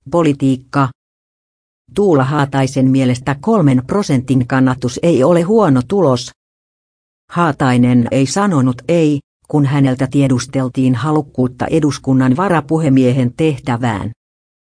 Politiikka. Tuula Haataisen mielestä 3% kannatus ei ole huono tulos. Haatainen ei sanonut ei, kun häneltä tiedusteltiin halukkuutta eduskunnan varapuhemiehen tehtävään.